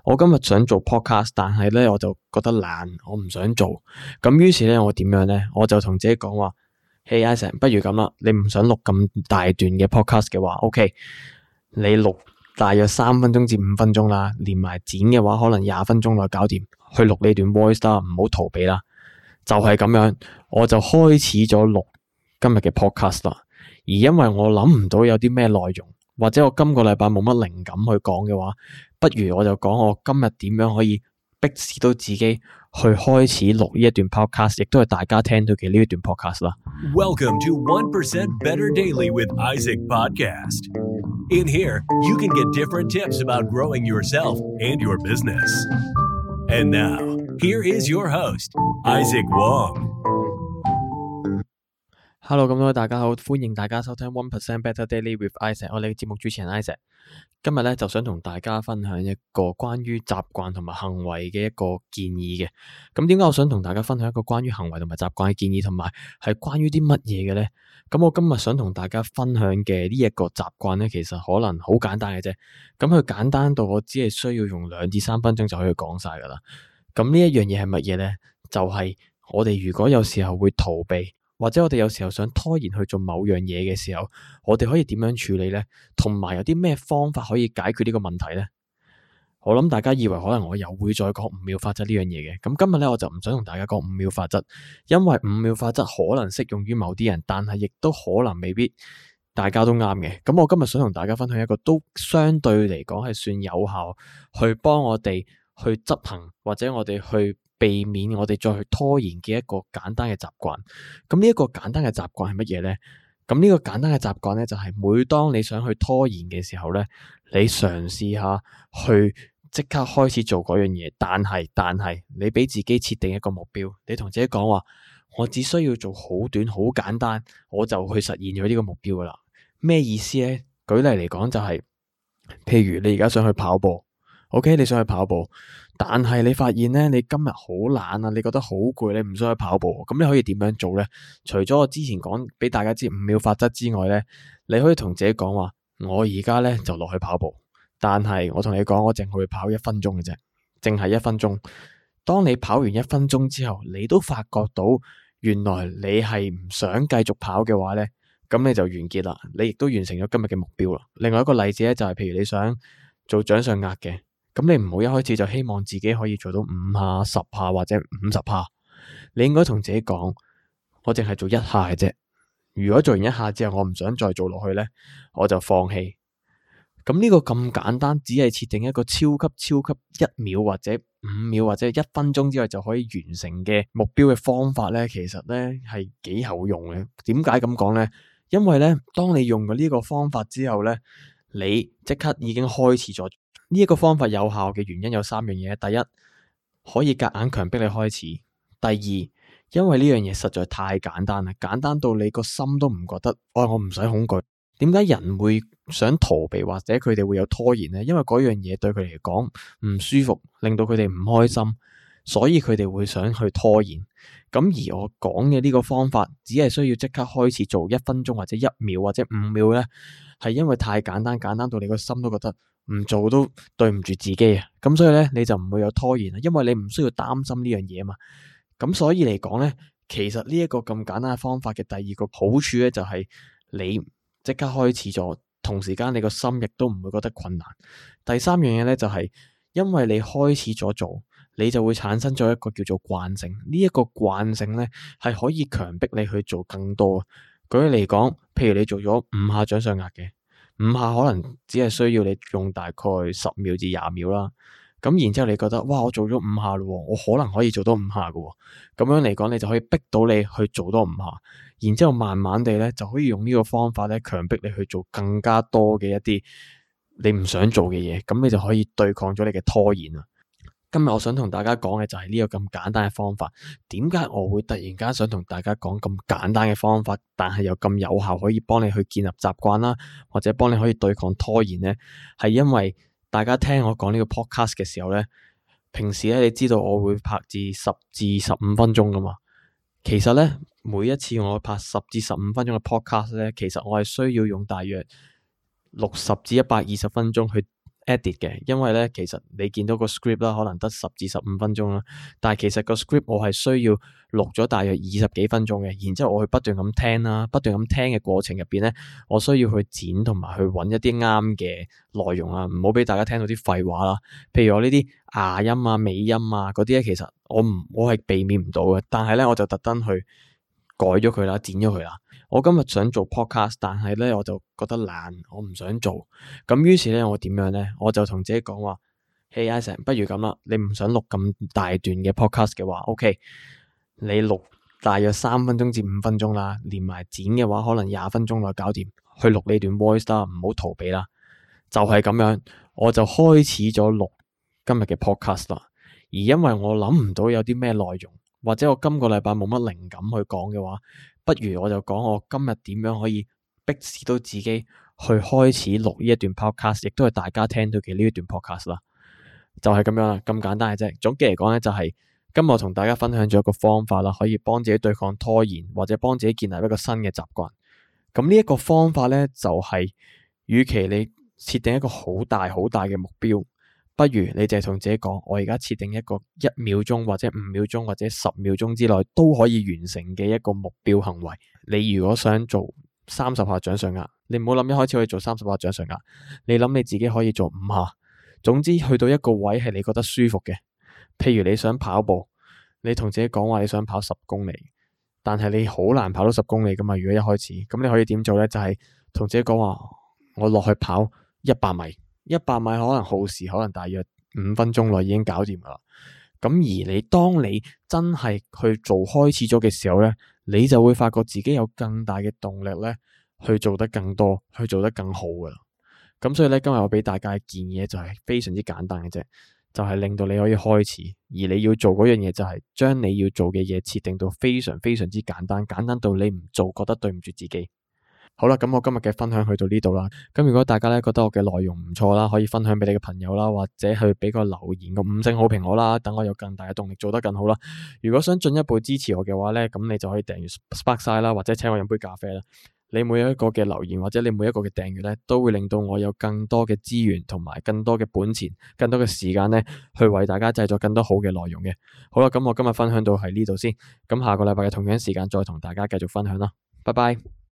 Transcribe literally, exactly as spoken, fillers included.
我今日想做 podcast，但係咧我就覺得懶，我唔想做。咁於是咧我點樣咧？我就同自己講話：Hey Isaac，不如咁啦，你唔想錄咁大段嘅 podcast 嘅話，OK，你錄大約三分鐘至五分鐘啦，連埋剪嘅話可能廿分鐘內搞掂，去錄呢段 voice 啦，唔好逃避啦。就係咁樣，我就開始咗錄今日嘅 podcast 啦。而因為我諗唔到有啲咩內容，或者我今個禮拜冇乜靈感去講嘅話，不如我就講我今日點樣可以逼使到自己去開始錄呢一段 podcast， 亦都係大家聽到嘅呢一段 podcast 啦。 Welcome to one percent Better Daily with Isaac Podcast. In here, you can get different tips about growing yourself and your business. And now, here is your host, Isaac Wong.Hello， 咁多位大家好，歡迎大家收聽 one percent Better Daily with Isaac， 我哋嘅節目主持人 Isaac。今日咧就想同大家分享一個關於習慣同埋行為嘅一個建議嘅。咁點解我想同大家分享一個關於行為同埋習慣嘅建議，同埋係關於啲乜嘢嘅咧？咁我今日想同大家分享嘅呢一個習慣咧，其實可能好簡單嘅啫。咁佢簡單到我只係需要用兩至三分鐘就可以講晒噶啦。咁呢一樣嘢係乜嘢咧？就係我哋如果有時候會逃避，或者我哋有時候想拖延去做某樣嘢嘅時候，我哋可以點樣處理呢？同埋有啲咩方法可以解決呢個問題呢？我諗大家以為可能我又會再講五秒法則呢樣嘢嘅，咁今日咧我就唔想同大家講五秒法則，因為五秒法則可能適用於某啲人，但係亦都可能未必大家都啱嘅。咁我今日想同大家分享一個都相對嚟講係算有效，去幫我哋去執行，或者我哋去避免我哋再去拖延嘅一個簡單嘅習慣。咁呢一個簡單嘅習慣係乜嘢呢？咁呢個簡單嘅習慣呢，就係每當你想去拖延嘅時候呢，你嘗試下去即刻開始做嗰樣嘢。但係但係你俾自己設定一個目標，你同自己講話：我只需要做好短好簡單，我就去實現咗呢個目標噶啦。咩意思呢？舉例嚟講就係，譬如你而家想去跑步。OK， 你想去跑步，但係你發現咧，你今日好懶啊，你覺得好攰，你唔想去跑步，咁你可以點樣做咧？除咗我之前講俾大家知五秒法則之外咧，你可以同自己講話：我而家咧就落去跑步，但係我同你講，我淨係會跑一分鐘嘅啫，淨係一分鐘。當你跑完一分鐘之後，你都發覺到原來你係唔想繼續跑嘅話咧，咁你就完結啦，你亦都完成咗今日嘅目標啦。另外一個例子咧就係，譬如你想做掌上壓嘅。咁你唔好一開始就希望自己可以做到五下、十下或者五十下，你應該同自己講：我淨係做一下嘅啫。如果做完一下之後，我唔想再做落去咧，我就放棄。咁呢個咁簡單，只係設定一個超級超級一秒或者五秒或者一分鐘之內就可以完成嘅目標嘅方法咧，其實咧係幾好用嘅。點解咁講咧？因為咧，當你用咗呢個方法之後咧，你即刻已經開始咗。呢一個方法有效嘅原因有三樣嘢。第一，可以夾硬強迫你開始；第二，因為呢樣嘢實在太簡單啦，簡單到你個心都唔覺得，哦，我唔使恐懼。點解人會想逃避或者佢哋會有拖延呢？因為嗰樣嘢對佢哋嚟講唔舒服，令到佢哋唔開心，所以佢哋會想去拖延。咁而我講嘅呢個方法，只係需要即刻開始做一分鐘或者一秒或者五秒呢，係因為太簡單，簡單到你個心都覺得唔做都對唔住自己啊！咁所以咧，你就唔會有拖延啦，因為你唔需要擔心呢樣嘢啊嘛。咁所以嚟講咧，其實呢一個咁簡單嘅方法嘅第二個好處咧，就係你即刻開始咗，同時間你個心亦都唔會覺得困難。第三樣嘢咧，就係因為你開始咗做，你就會產生咗一個叫做慣性。呢一個慣性咧，係可以強迫你去做更多。舉例嚟講，譬如你做咗五下掌上壓嘅。五下可能只係需要你用大概十秒至廿秒啦，咁然之後你覺得哇，我做咗五下咯，我可能可以做到五下噶，咁樣嚟講你就可以逼到你去做多五下，然之後慢慢地咧就可以用呢個方法咧強迫你去做更加多嘅一啲你唔想做嘅嘢，咁你就可以對抗咗你嘅拖延啦。今日我想同大家講嘅就係呢個咁簡單嘅方法。點解我會突然間想同大家講咁簡單嘅方法，但係又咁有效可以幫你去建立習慣啦，或者幫你可以對抗拖延呢？係因為大家聽我講呢個 podcast 嘅時候呢，平時咧你知道我會拍至十至十五分鐘噶嘛。其實呢，每一次我拍十至十五分鐘嘅 podcast 呢，其實我係需要用大約六十至一百二十分鐘去 edit 嘅，因為咧其實你見到個 script 啦，可能得十至十五分鐘啦，但係其實個 script 我係需要錄咗大約二十幾分鐘嘅，然之後我去不斷咁聽啦，不斷咁聽嘅過程入邊咧，我需要去剪同埋去揾一啲啱嘅內容啊，唔好俾大家聽到啲廢話啦。譬如我呢啲牙音啊、尾音啊嗰啲咧，其實我唔我係避免唔到嘅，但係咧我就特登去改咗佢啦，剪咗佢啦。我今日想做 podcast， 但係咧我就覺得懶，我唔想做。咁於是咧我點樣咧？我就同自己講話：Hey Isaac，不如咁啦，你唔想錄咁大段嘅 podcast 嘅話 ，OK， 你錄大約三分鐘至五分鐘啦，連埋剪嘅話可能廿分鐘內搞掂，去錄呢段 voice 啦，唔好逃避啦。就係咁樣，我就開始咗錄今日嘅 podcast 啦。而因為我諗唔到有啲咩內容，或者我今個禮拜冇乜靈感去講嘅話，不如我就講我今日點樣可以逼使到自己去開始錄呢一段 podcast， 亦都係大家聽到嘅呢一段 podcast 啦。就係咁樣啦，咁簡單嘅啫。總結嚟講咧，就係今日我同大家分享咗一個方法啦，可以幫自己對抗拖延，或者幫自己建立一個新嘅習慣。咁呢一個方法咧，就係與其你設定一個好大好大嘅目標，不如你就係同自己講，我而家設定一個一秒鐘或者五秒鐘或者十秒鐘之內都可以完成嘅一個目標行為。你如果想做三十下掌上壓，你唔好諗一開始可以做三十下掌上壓，你諗你自己可以做五下。總之去到一個位係你覺得舒服嘅，譬如你想跑步，你同自己講話你想跑十公里，但係你好難跑到十公里噶嘛。如果一開始，咁你可以點做咧？就係同自己講話，我落去跑一百米，一百米可能耗時可能大約五分鐘內已經搞掂噶啦。咁而你當你真係去做開始咗嘅時候咧，你就會發覺自己有更大嘅動力咧，去做得更多，去做得更好噶啦。咁所以咧，今日我俾大家嘅建議就係非常之簡單嘅啫，就係令到你可以開始，而你要做嗰樣嘢就係將你要做嘅嘢設定到非常非常之簡單，簡單到你唔做覺得對唔住自己。好啦，咁我今日嘅分享去到呢度啦。咁如果大家咧覺得我嘅內容唔錯啦，可以分享俾你嘅朋友啦，或者去俾個留言個五星好評我啦，等我有更大嘅動力做得更好啦。如果想進一步支持我嘅話咧，咁你就可以訂閱 Sparkside 啦，或者請我飲杯咖啡啦。你每一個嘅留言或者你每一個嘅訂閱咧，都會令到我有更多嘅資源同埋更多嘅本錢、更多嘅時間咧，去為大家製作更多好嘅內容嘅。好啦，咁我今日分享到喺呢度先，咁下個禮拜嘅同樣時間再同大家繼續分享啦，拜拜。